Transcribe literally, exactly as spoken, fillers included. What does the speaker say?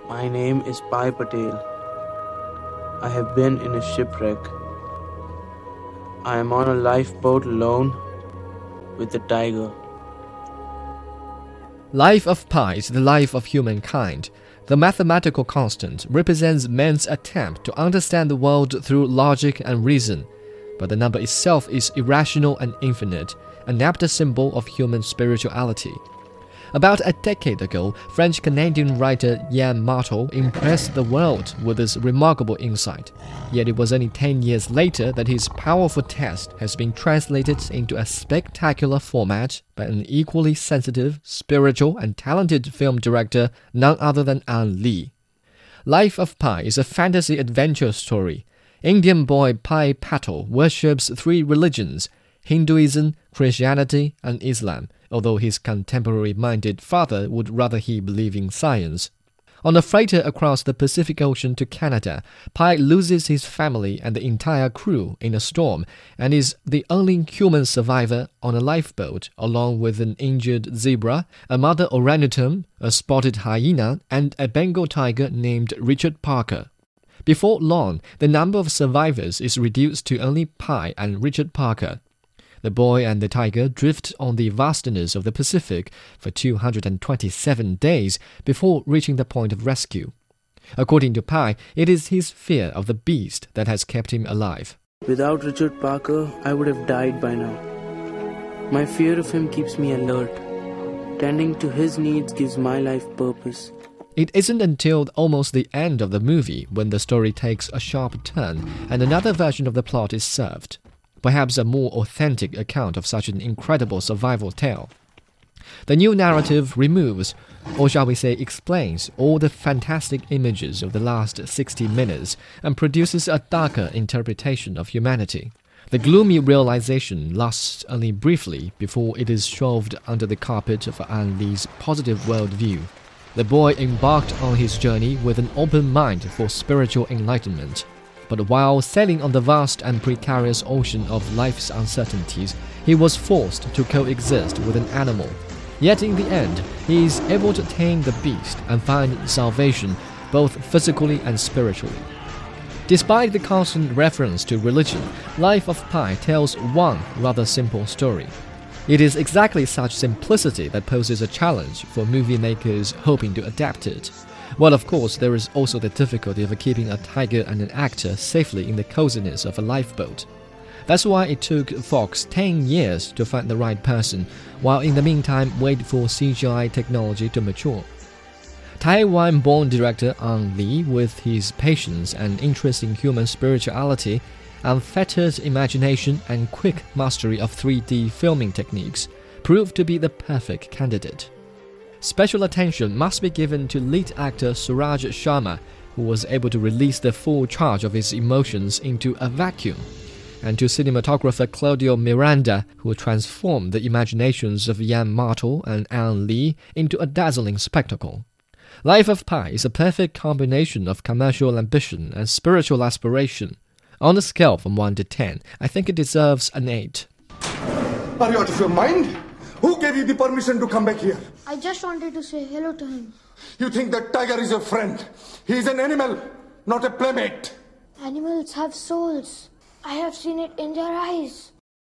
My name is Pai Patel. I have been in a shipwreck. I am on a lifeboat alone with a tiger. Life of Pi is the life of humankind. The mathematical constant represents man's attempt to understand the world through logic and reason, but the number itself is irrational and infinite, an apt symbol of human spirituality. About a decade ago, French-Canadian writer Yann Martel impressed the world with this remarkable insight. Yet it was only ten years later that his powerful text has been translated into a spectacular format by an equally sensitive, spiritual, and talented film director, none other than Ang Lee. Life of Pi is a fantasy adventure story. Indian boy Pai Patel worships three religions: Hinduism, Christianity, and Islam, although his contemporary-minded father would rather he believe in science. On a freighter across the Pacific Ocean to Canada, Pai loses his family and the entire crew in a storm and is the only human survivor on a lifeboat, along with an injured zebra, a mother orangutan, a spotted hyena, and a Bengal tiger named Richard Parker. Before long, the number of survivors is reduced to only Pai and Richard Parker. The boy and the tiger drift on the vastness of the Pacific for two hundred twenty-seven days before reaching the point of rescue. According to Pai, it is his fear of the beast that has kept him alive. Without Richard Parker, I would have died by now. My fear of him keeps me alert. Tending to his needs gives my life purpose. It isn't until almost the end of the movie when the story takes a sharp turn and another version of the plot is served. Perhaps a more authentic account of such an incredible survival tale. The new narrative removes, or shall we say explains, all the fantastic images of the last sixty minutes and produces a darker interpretation of humanity. The gloomy realization lasts only briefly before it is shoved under the carpet of Ang Lee's positive worldview. The boy embarked on his journey with an open mind for spiritual enlightenment. But while sailing on the vast and precarious ocean of life's uncertainties, he was forced to coexist with an animal. Yet in the end, he is able to tame the beast and find salvation both physically and spiritually. Despite the constant reference to religion, Life of Pi tells one rather simple story. It is exactly such simplicity that poses a challenge for movie makers hoping to adapt it. Well, of course, there is also the difficulty of keeping a tiger and an actor safely in the coziness of a lifeboat. That's why it took Fox ten years to find the right person, while in the meantime wait for C G I technology to mature. Taiwan-born director Ang Lee, with his patience and interest in human spirituality, unfettered imagination and quick mastery of three D filming techniques, proved to be the perfect candidate. Special attention must be given to lead actor Suraj Sharma, who was able to release the full charge of his emotions into a vacuum, and to cinematographer Claudio Miranda, who transformed the imaginations of Yann Martel and Ang Lee into a dazzling spectacle. Life of Pi is a perfect combination of commercial ambition and spiritual aspiration. On a scale from one to ten, I think it deserves an eight. Are you out of your mind? Who gave you the permission to come back here? I just wanted to say hello to him. You think that tiger is your friend? He is an animal, not a playmate. Animals have souls. I have seen it in their eyes.